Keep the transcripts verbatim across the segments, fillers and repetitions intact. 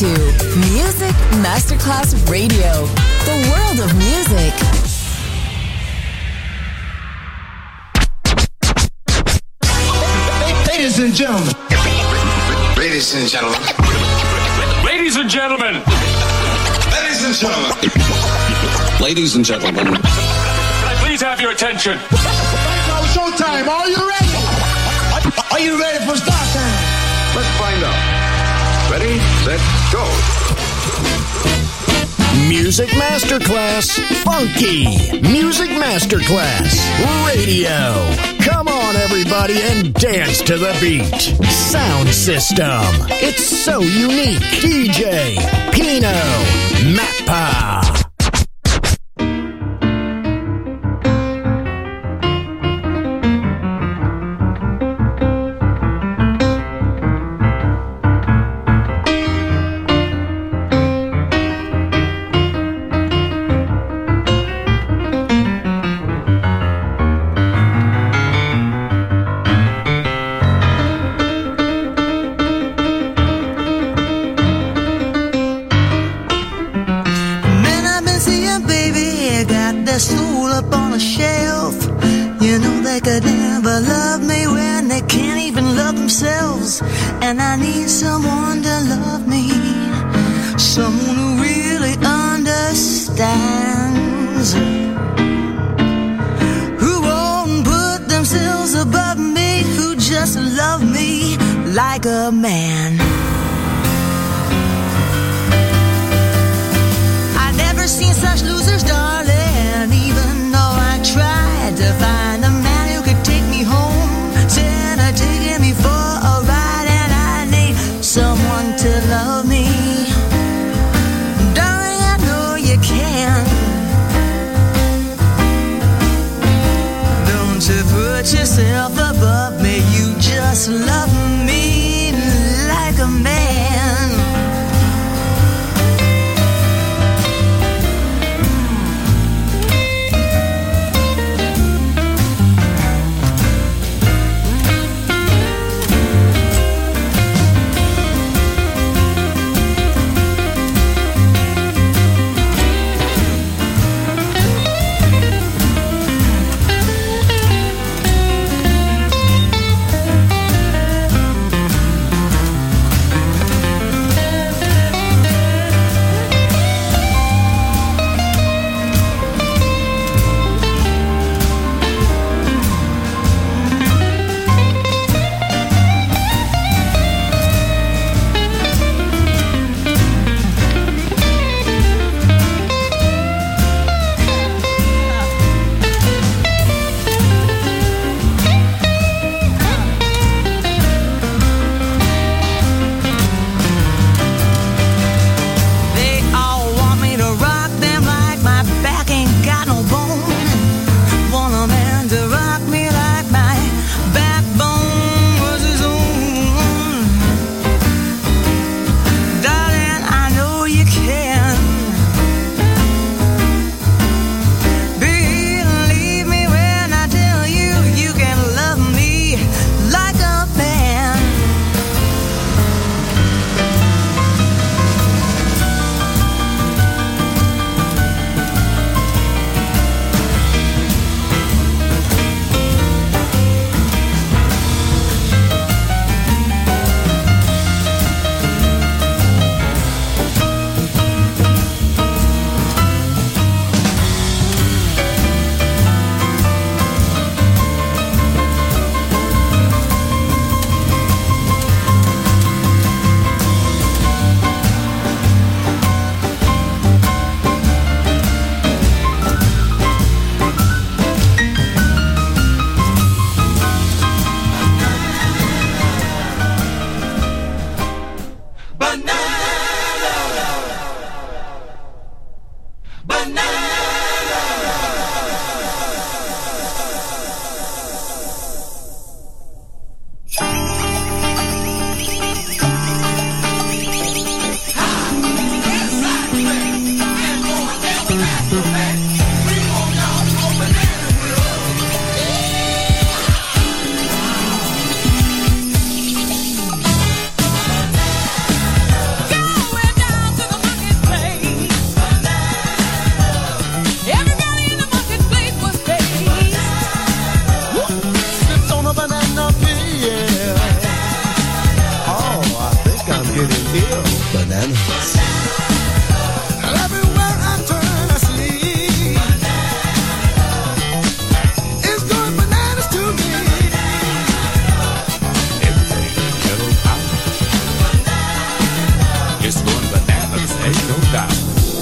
to Music Masterclass Radio, the world of music. Ladies and gentlemen. Ladies and gentlemen. Ladies and gentlemen. Ladies and gentlemen. Ladies and gentlemen. Can I please have your attention? Right now, showtime. Are you ready? Are you ready for start time? Let's find out. Ready, set, go. Music Masterclass Funky. Music Masterclass Radio. Come on, everybody, and dance to the beat. Sound system. It's so unique. D J Pino Mappa. And I need someone to love me, someone who really understands, who won't put themselves above me, who just love me like a man. I've never seen such losers, darling, even though I tried to find a man who could take me home, instead of taking me for a ride. Someone to love me, darling, I know you can. Don't you put yourself above me, you just love me like a man. It is bananas. Everywhere I turn, I see it's going bananas to me. Everything kettle out. It's going bananas, ain't no doubt.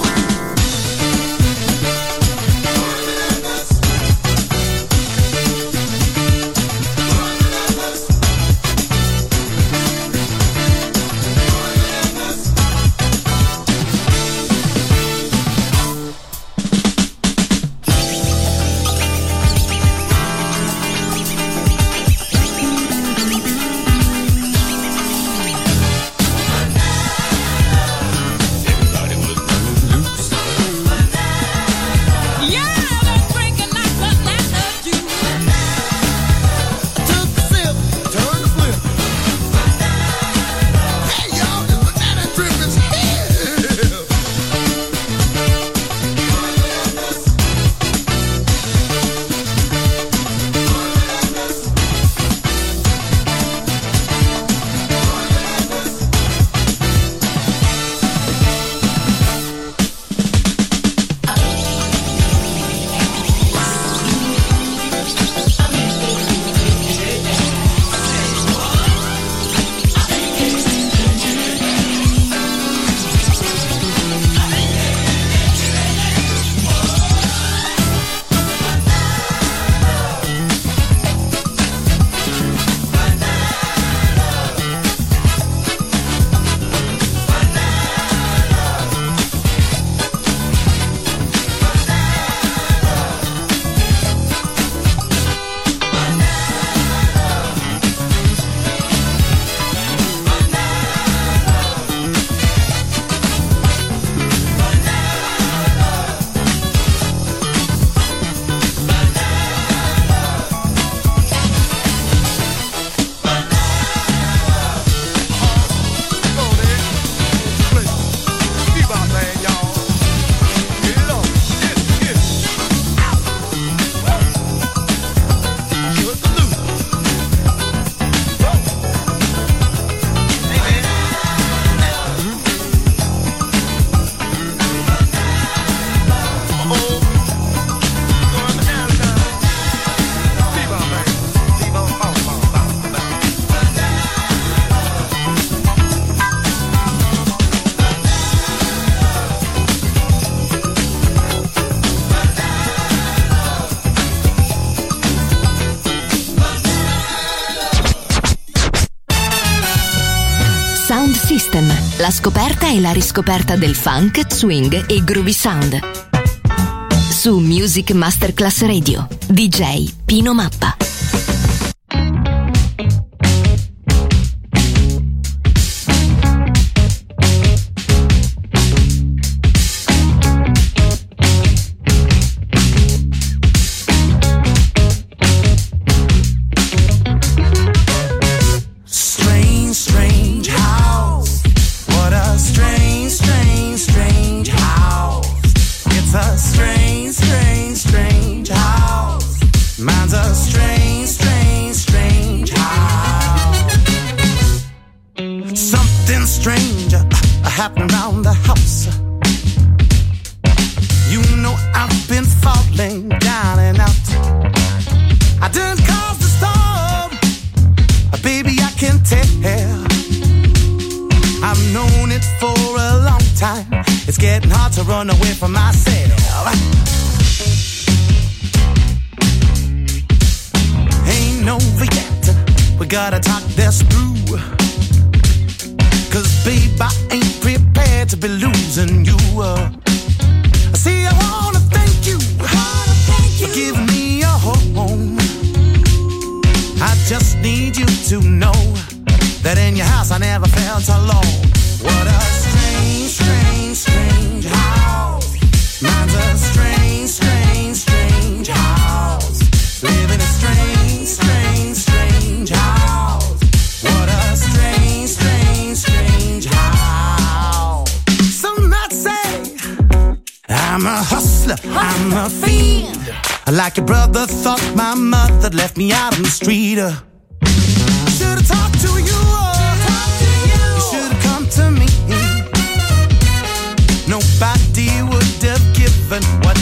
System, la scoperta e la riscoperta del funk, swing e groovy sound. Su Music Masterclass Radio, D J Pino Mappa. Happening around the house. You know I've been falling down and out. I didn't cause the storm, baby, I can tell. I've known it for a long time. It's getting hard to run away from myself. Ain't over yet, we gotta talk this through. Cause babe, I ain't prepared to be losing you. uh, See, I wanna thank you, wanna thank you for giving me a home. I just need you to know that in your house I never felt alone. What a strange, strange, strange house. Mine's a strange, strange, strange house. Live in a strange, strange, strange house. What a strange, strange, strange house. Some might say I'm a hustler, I'm a fiend. Like your brother thought my mother left me out on the street. uh. Should've talked to you, uh. You should've come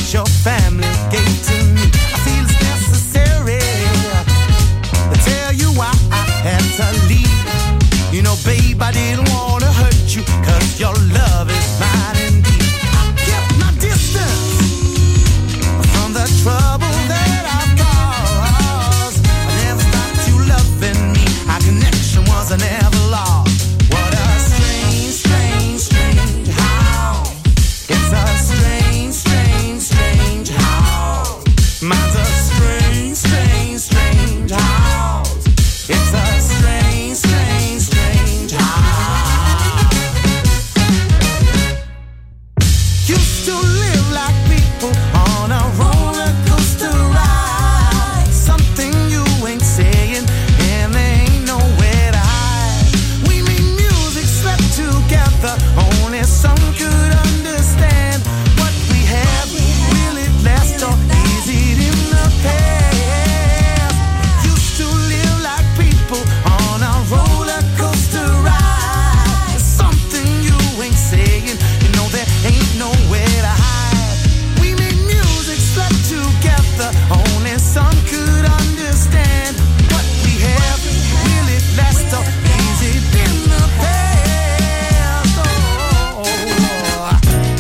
as your family gave to me. I feel it's necessary to tell you why I had to leave. You know, babe, I didn't want to hurt you, cause your love is mine indeed. I kept my distance from the trouble that I've caused. I never stopped you loving me. Our connection was never lost. What a strange, strange, strange house. It's a strange, strange, strange house. Mine's a strange, strange, strange house. It's a strange, strange, strange house. Used to live like people on a roller coaster ride. Something you ain't saying, and there ain't nowhere to hide. We made music, slept together, only some could understand. What we have, will it last, or is it in the past? Used to live like people on a roller coaster ride. Something you ain't saying, you know there ain't nowhere to hide. We made music, slept together, only some could understand. What we have, will it last, or is it in the past? Oh, uh.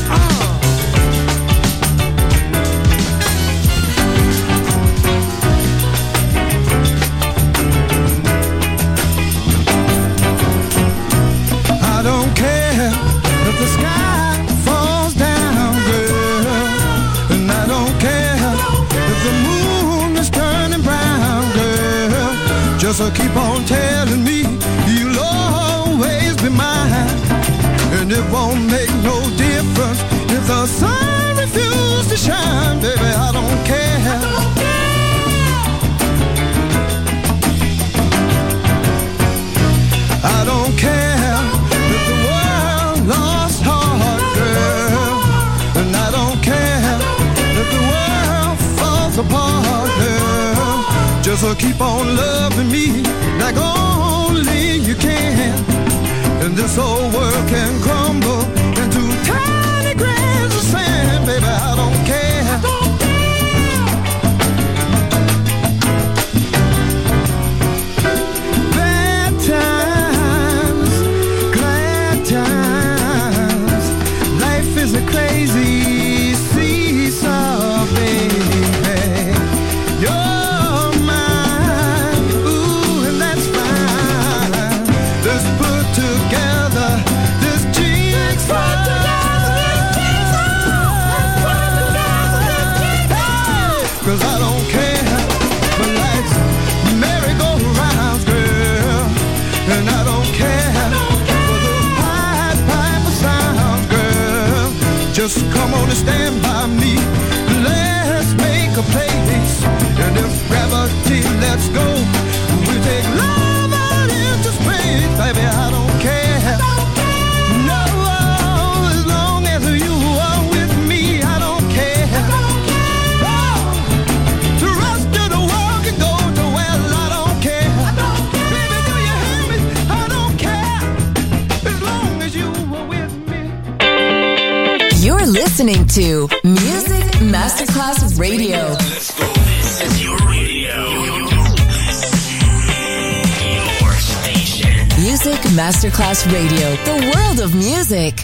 I don't care if the sky falls down, girl, and I don't care if the moon is turning brown, girl. Just uh, keep on telling me you'll always be mine, and it won't make no difference if the sun refuses to shine, baby. I don't care. I don't care if the world lost heart, girl, and I don't care if the world falls apart, girl. Just uh, keep on loving me like only you can, and this whole world can crumble into tiny grains of sand, baby. I don't care. I don't care. Bad times, glad times, life is a crazy seesaw, baby. You're mine, ooh, and that's fine. Let's put together this jigsaw. Cause I don't care for life's merry-go-rounds, girl, and I don't care for the Pied Piper sounds, girl. Just come on and stand by me. Let's make a place, and if gravity lets go, we take love out into space, baby. I don't care. No, as long as you are with me, I don't care. To rush to the wall and go to well, I don't care. Baby, do you hear me? I don't care. As long as you are with me. You're listening to Music Masterclass Radio. Let's go. This is your radio. Your station. Music Masterclass Radio. The world of music.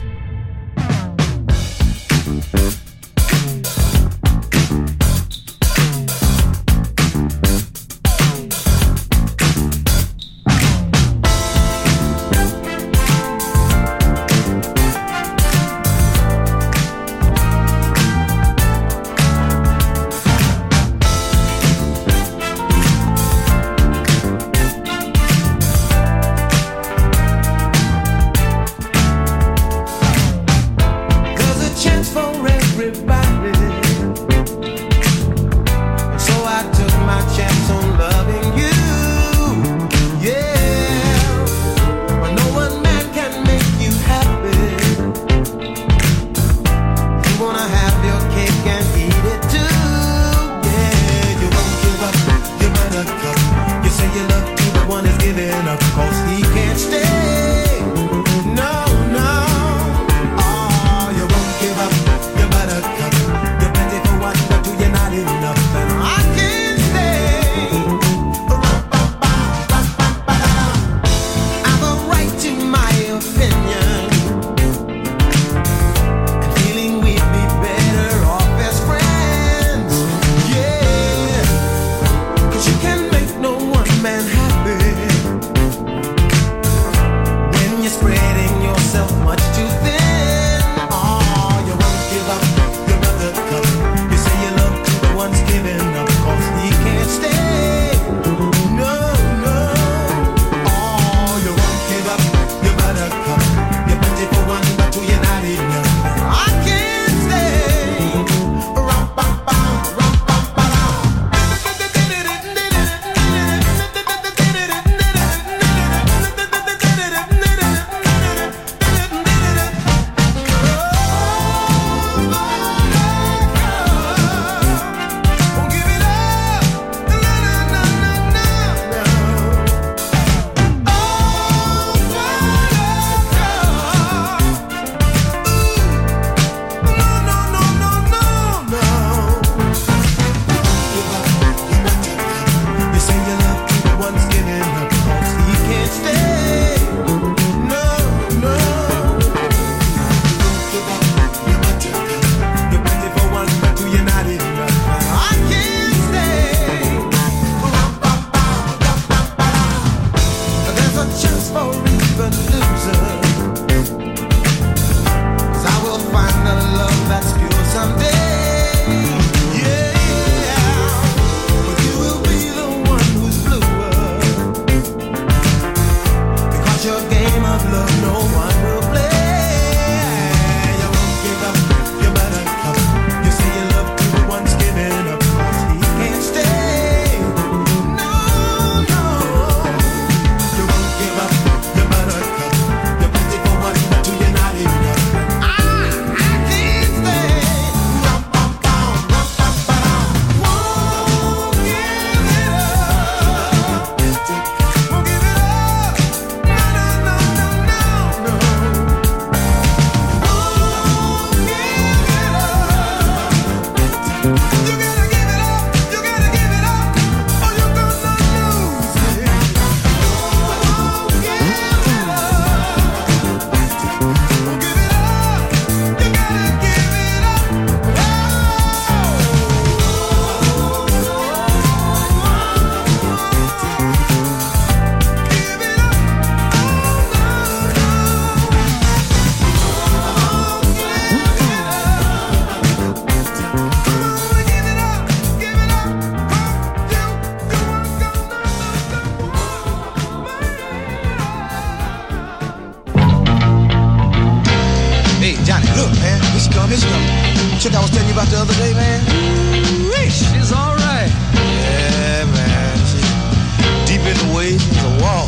she come, here she come. Chick I was telling you about the other day, man. Ooh-wee, she's alright. Yeah, man. She's deep in the waist as a walk.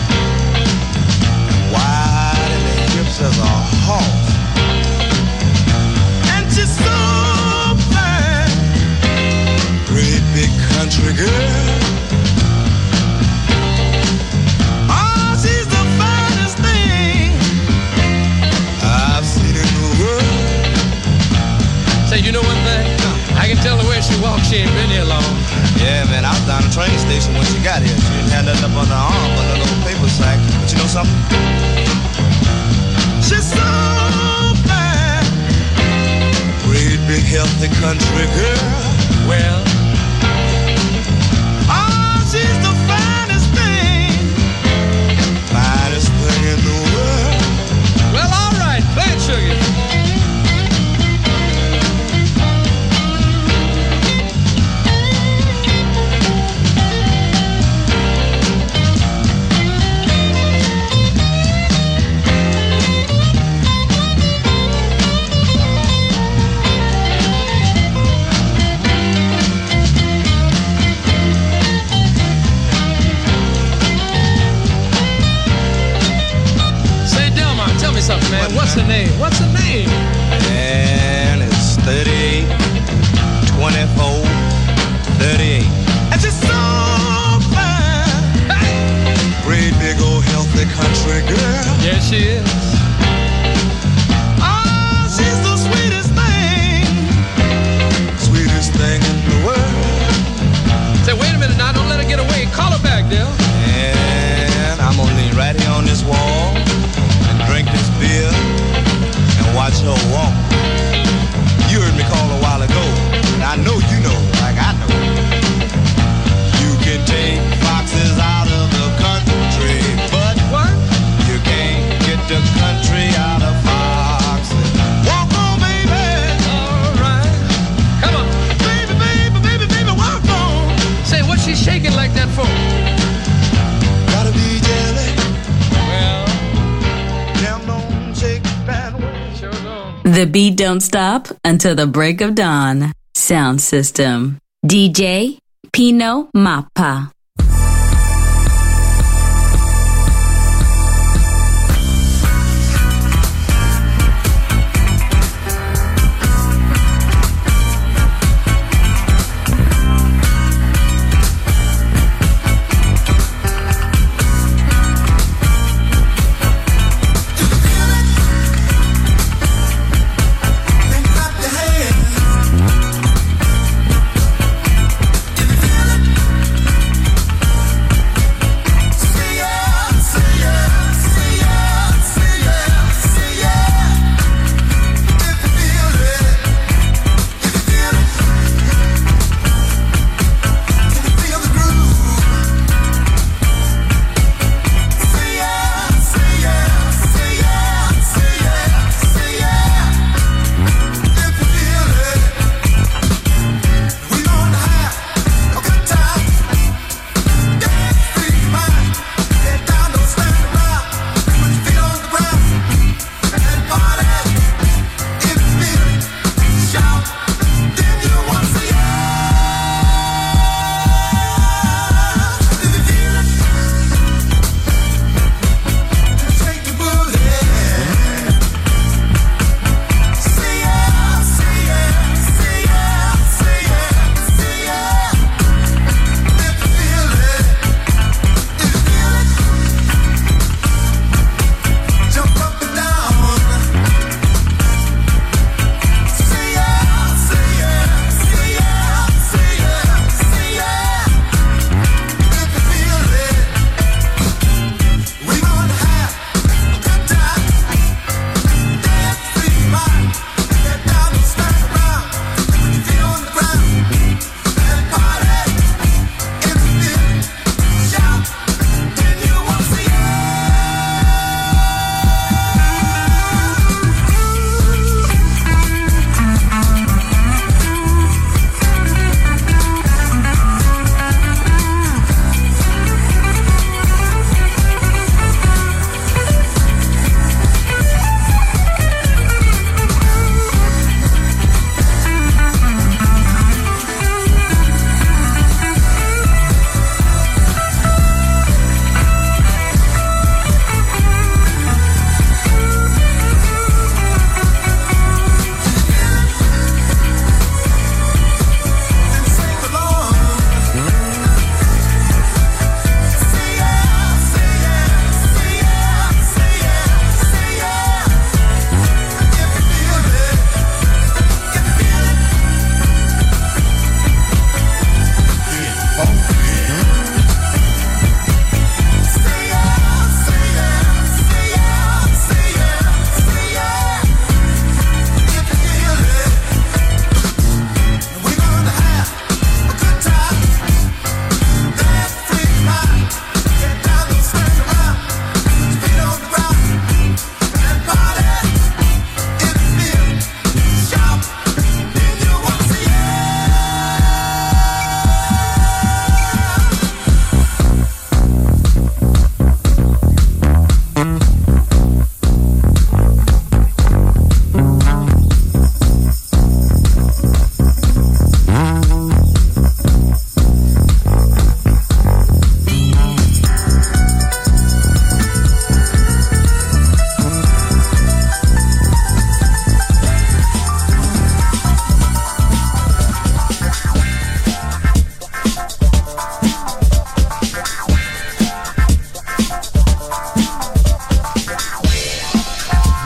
Wide in the hips as a horse. And she's so fine. Great big country girl. Oh, she's the finest thing I've seen in the world. Say, you know one thing? I can tell the way she walks, she ain't been here long. Yeah, man, I was down the train station when she got here. She didn't have nothing up on her arm but a little paper sack. But you know something? She's so fine. Great big healthy country girl. Well, oh, she's the finest thing, finest thing in the world. well, all right, play it, sugar. Something, man. What's her name? What's her name? And it's thirty-eight, twenty-four, thirty-eight. And she's so fine. Hey. Great big old healthy country girl. Yes, she is. Oh, she's the sweetest thing, sweetest thing in the world. Say, wait a minute now. Don't let her get away. Call her back, Dale. And I'm gonna lean right here on this wall, drink this beer, and watch her walk. You heard me call a while ago, and I know you know, like I know. You can take foxes out of the country, but what? You can't get the country out of foxes. Walk on, baby. All right. Come on. Baby, baby, baby, baby, walk on. Say, what's she shaking like that for? Gotta be jelly. Well, The beat don't stop until the break of dawn. Sound system. D J Pino Mappa. Feel it.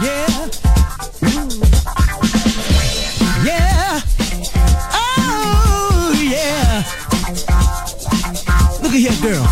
Yeah. Yeah. Oh, yeah. Look at here, girl.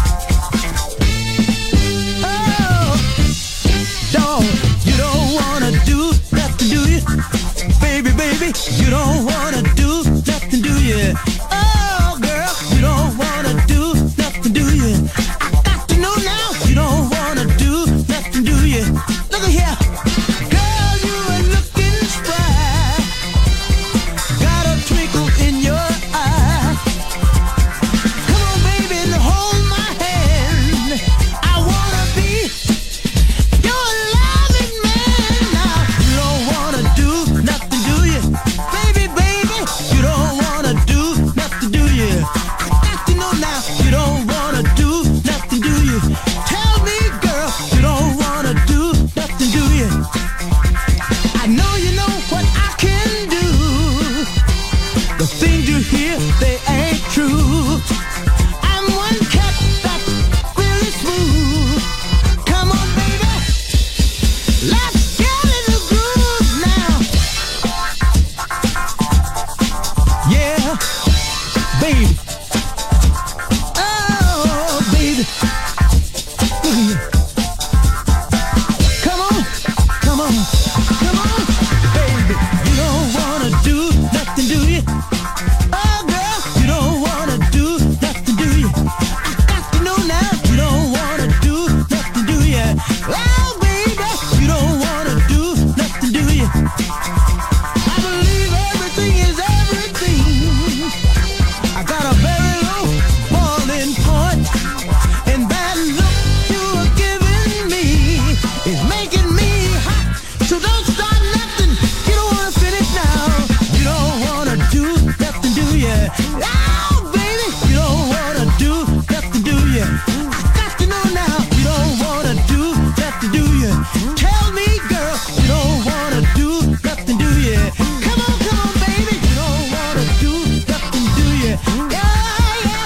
Oh, dog, you don't wanna do nothing, do you? Baby, baby, you don't wanna do nothing, do you? Oh, girl, you don't wanna do nothing, do you? I got to know now, you don't wanna do nothing, do you? Look at here. Girl, you are looking spry. Got a twinkle in your eye. Come on, baby, and hold my hand. I wanna be your loving man now. You don't wanna do nothing, do you? Baby, baby, you don't wanna do nothing, do you? I got to know now, you don't wanna do nothing, do you? Tell me, girl, you don't wanna do nothing, do you? I know you know what I can do. The things you hear, they ain't true. I'm one cat that's really smooth. Come on, baby, let's get in the groove now. Yeah, baby. Oh, baby. Look at you. Come on, come on, come on, baby. You don't wanna do nothing, do you? Oh, girl, you don't wanna do nothing, do you? I got to know now, you don't wanna do nothing, do you? Oh, baby, you don't wanna do nothing, do you? I believe everything is everything. I got a very low boiling point, and that look you are giving me is making me hot. So don't start nothing. You don't wanna finish now. You don't wanna do nothing, do you? Oh, baby, you don't wanna do nothing, do you? I got to know now. You don't wanna do nothing, do you? Tell me, girl, you don't wanna do nothing, do you? Come on, come on, baby, you don't wanna do nothing, do you? Yeah, yeah.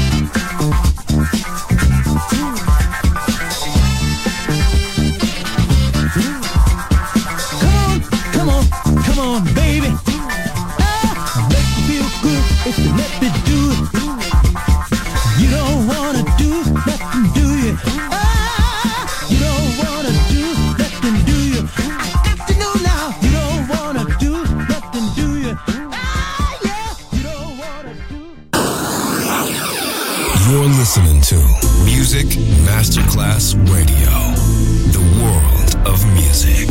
Come on, come on, come on, baby. Ah, make me feel good if you let me do it. You don't wanna do nothing, do you? Ah, you don't wanna do nothing, do you? I got to know now. You don't wanna do nothing, do you? Ah, yeah, you don't wanna do. You're listening to Music Masterclass Radio, the world of music.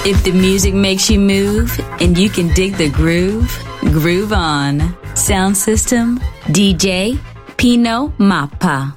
If the music makes you move and you can dig the groove, groove on. Sound system, D J Pino Mappa.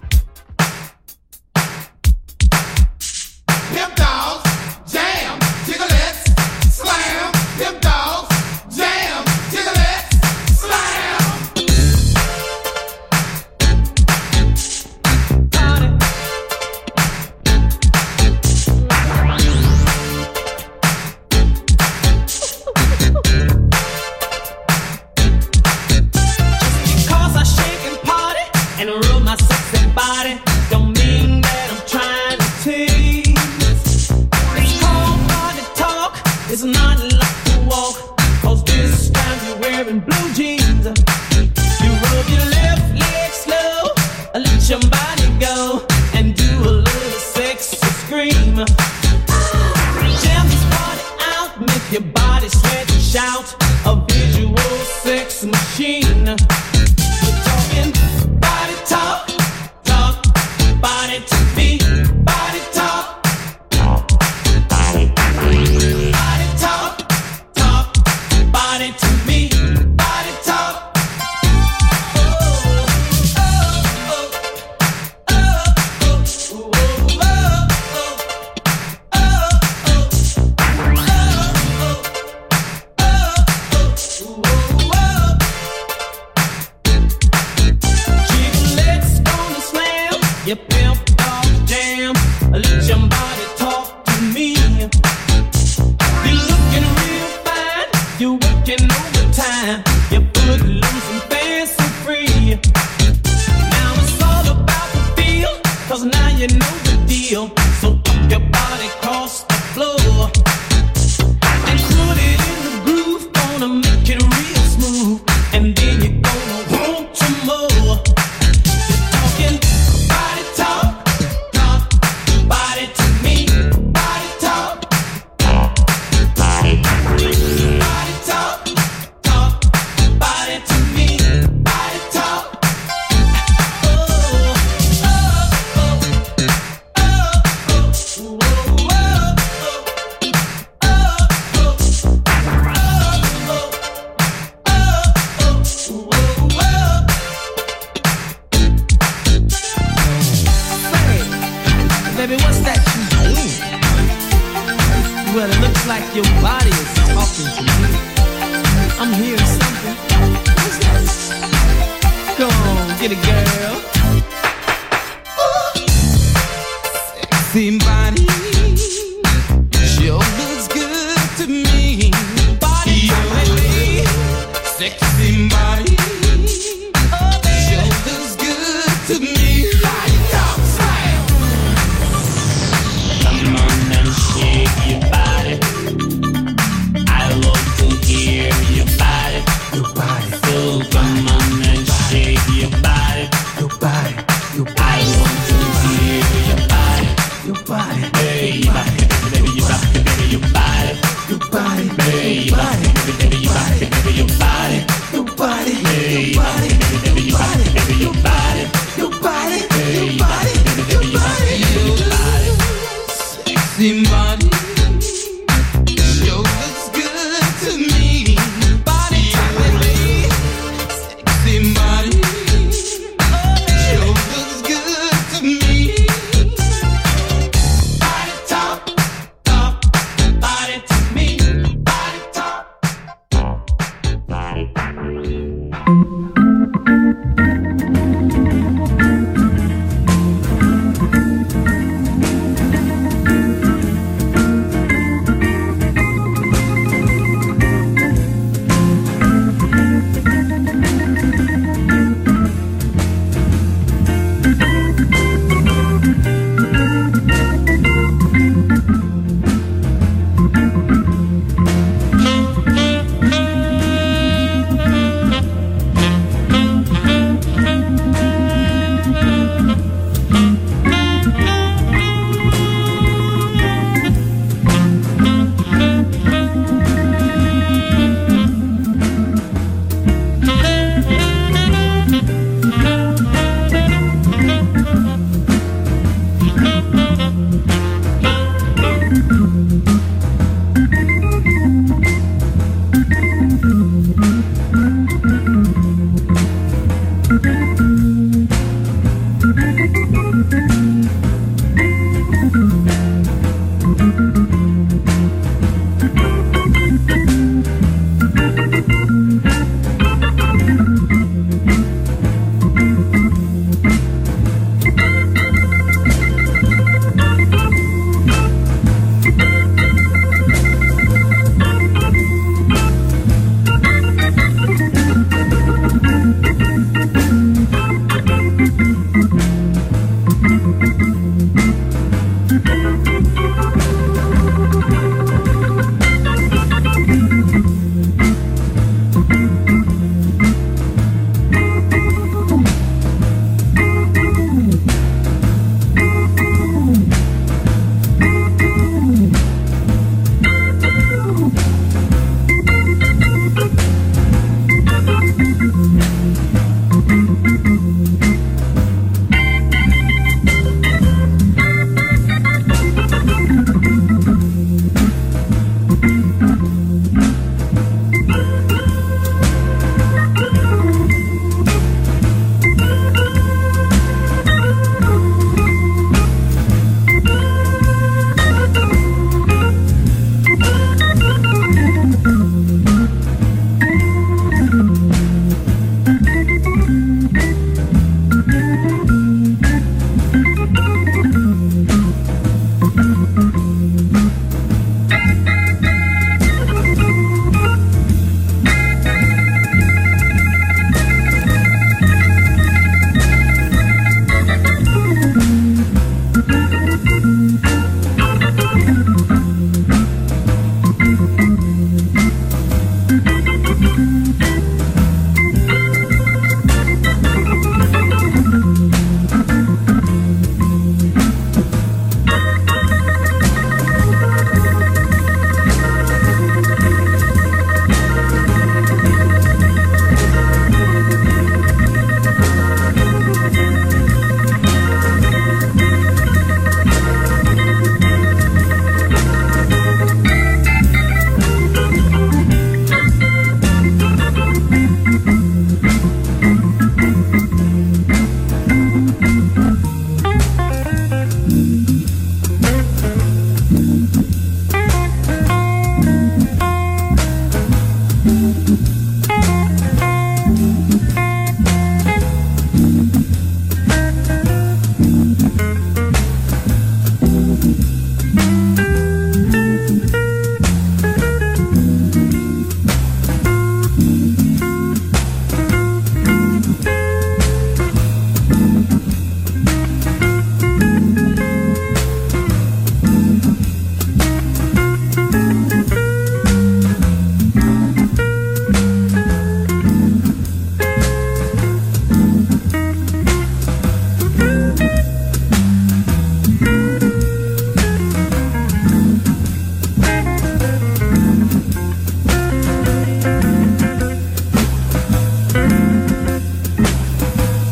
Your body, baby, your body, baby, your body,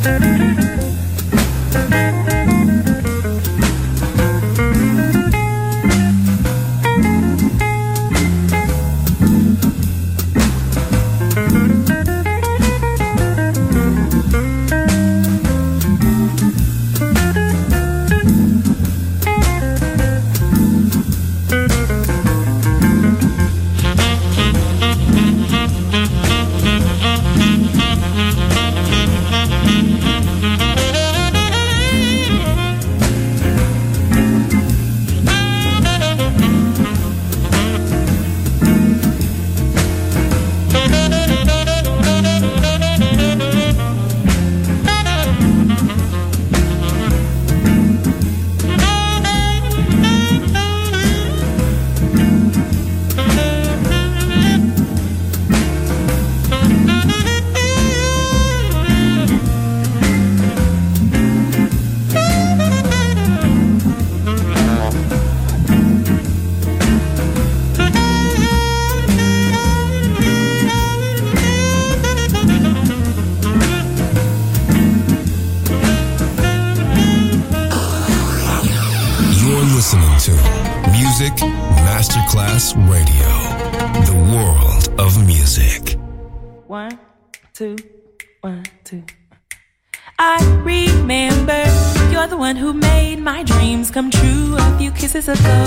Masterclass Radio, the world of music. One, two, one, two. I remember you're the one who made my dreams come true a few kisses ago.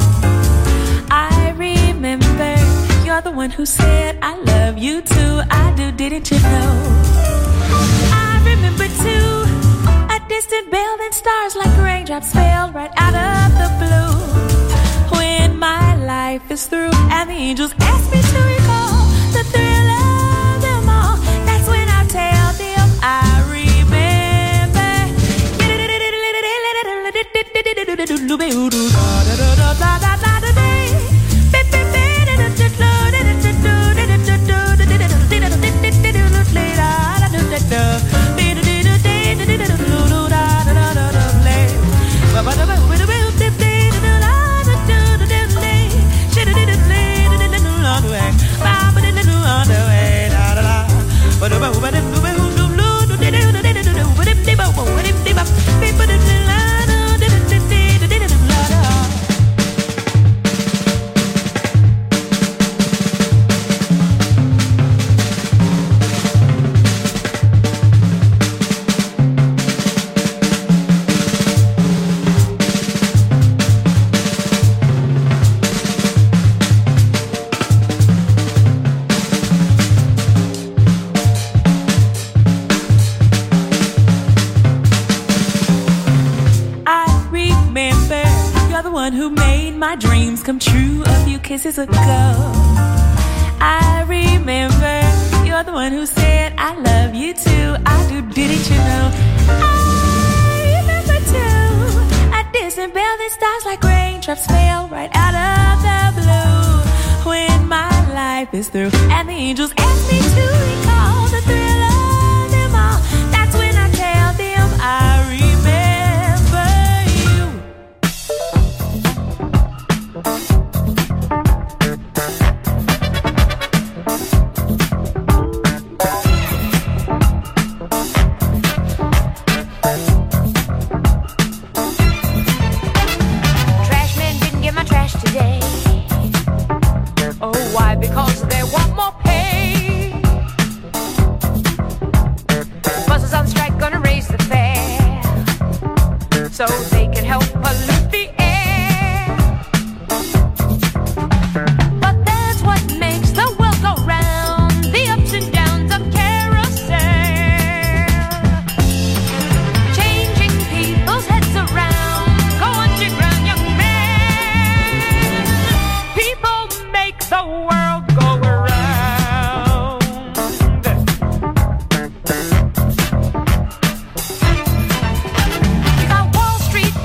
I remember you're the one who said I love you too. I do, didn't you know? I remember too a distant bell and stars like raindrops fell right out of the blue. When my life is through and the angels ask me to recall the thrill of them all, that's when I tell them I remember. Come true a few kisses ago. I remember you're the one who said I love you too. I do, didn't you know? I remember too a distant bell that stars like raindrops fell right out of the blue. When my life is through and the angels ask me to recall the thrill of them all, that's when I tell them I remember. So they can help pollute the air. But that's what makes the world go round, the ups and downs of carousel, changing people's heads around. Go underground, young man. People make the world go around. You got Wall Street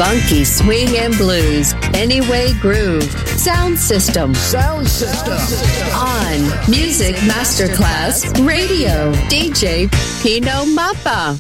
funky swing and blues, Anyway Groove, Sound System. Sound System. On Music Masterclass Radio, D J Pino Mappa.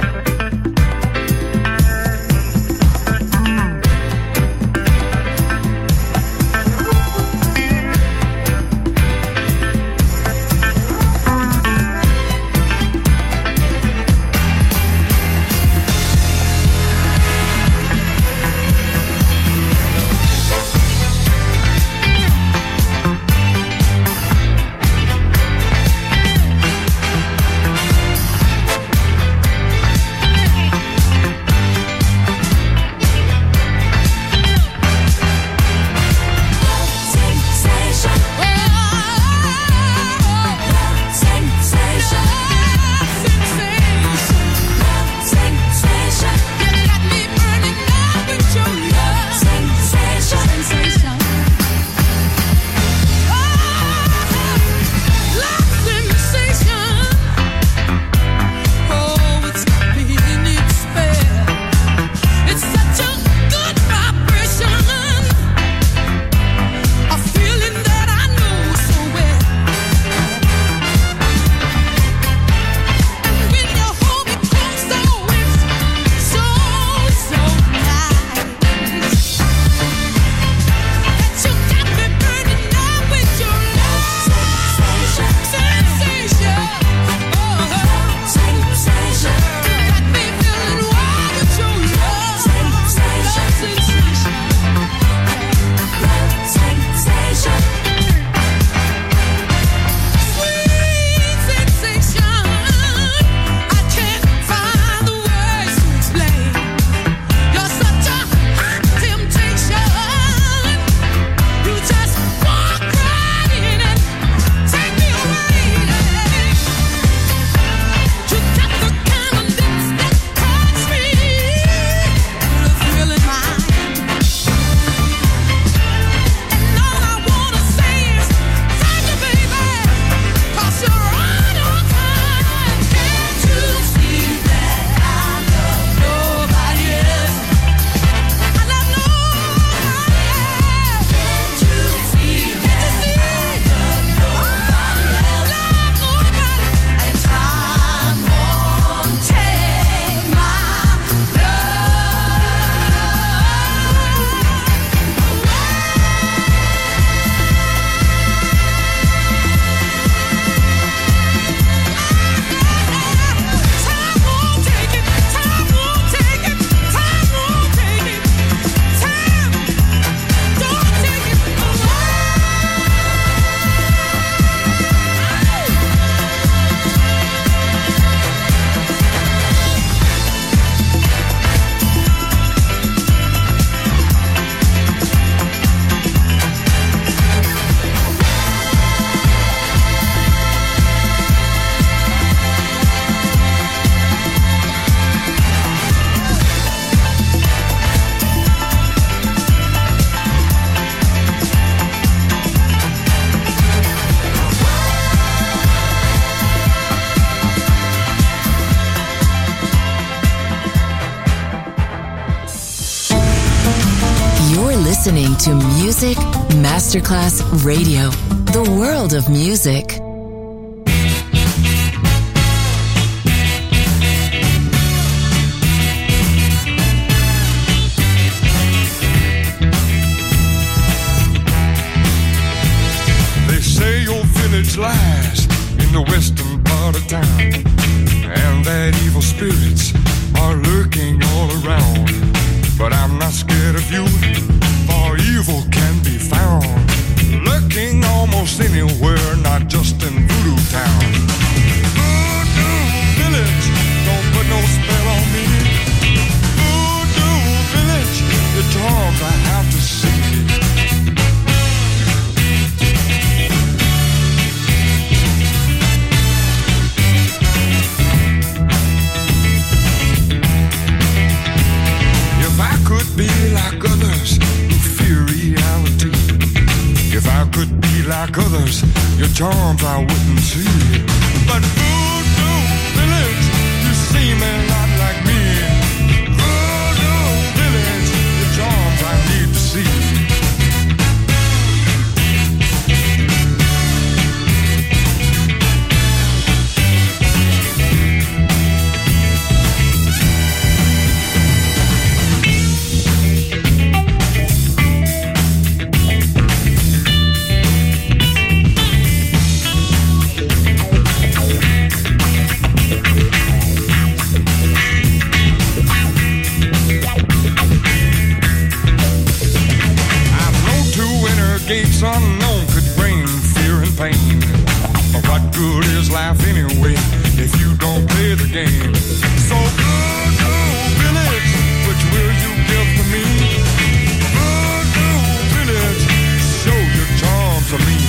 Listening to Music Masterclass Radio, the world of music. They say your village lies in the western part of town, and that evil spirits are lurking all around. But I'm not scared of you, for evil can be found lurking almost anywhere, not just in Voodoo Town. Voodoo Village, don't put no spell on me. Voodoo Village, the charms I have to see. Be like others who fear reality. If I could be like others, your charms I wouldn't see. But Voodoo Village, you seem a lot like me. Voodoo Village, pain. What good is life anyway if you don't play the game? So good, good village, which will you give to me? Good, good village, show your charm to me.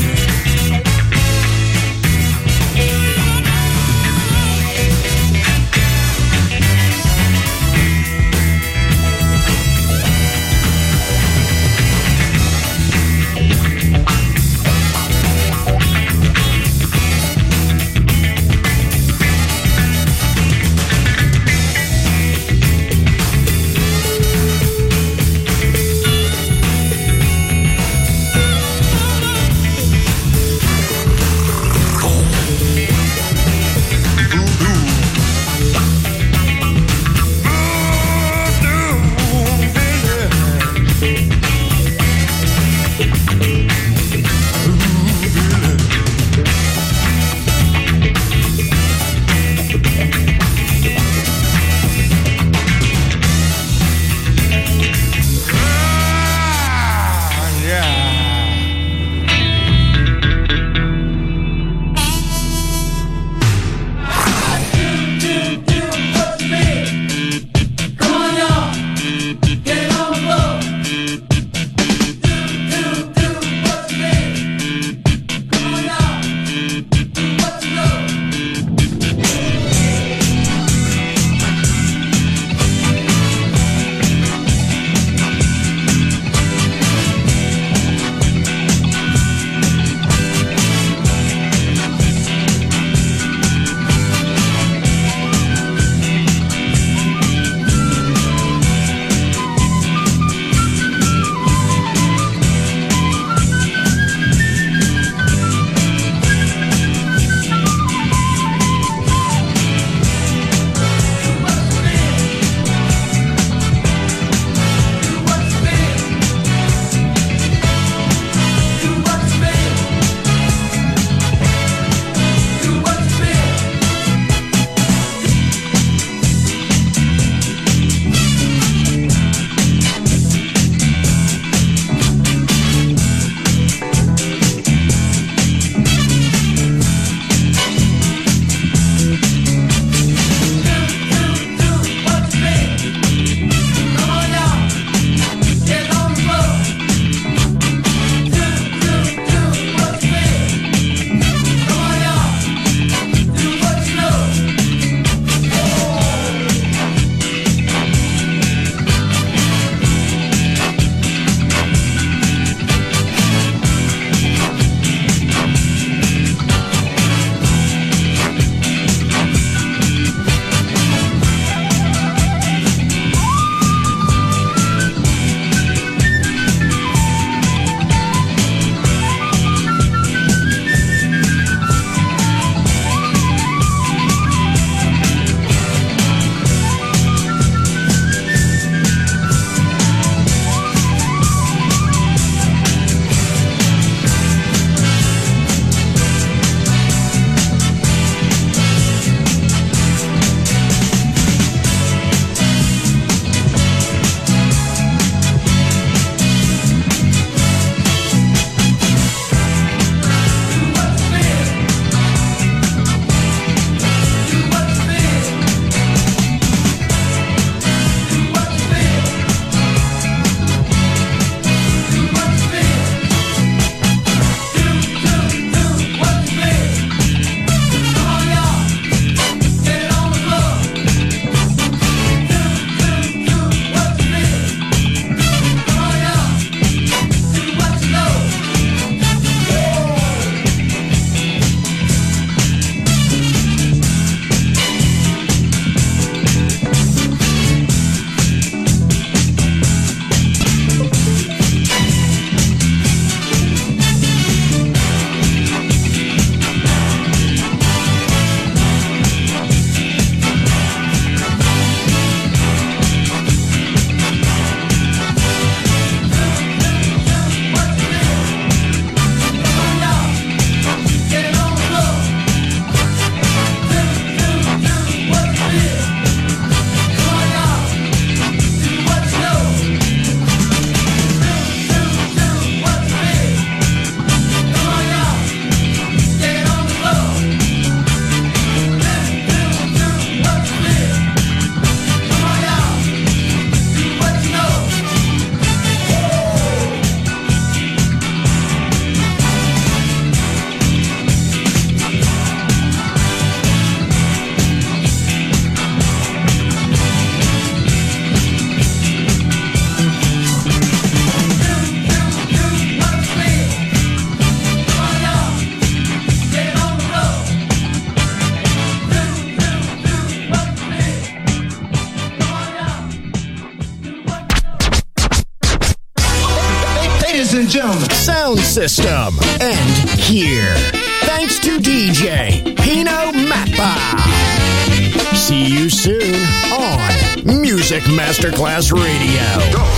sound system, and here. Thanks to D J Pino Mappa. See you soon on Music Masterclass Radio.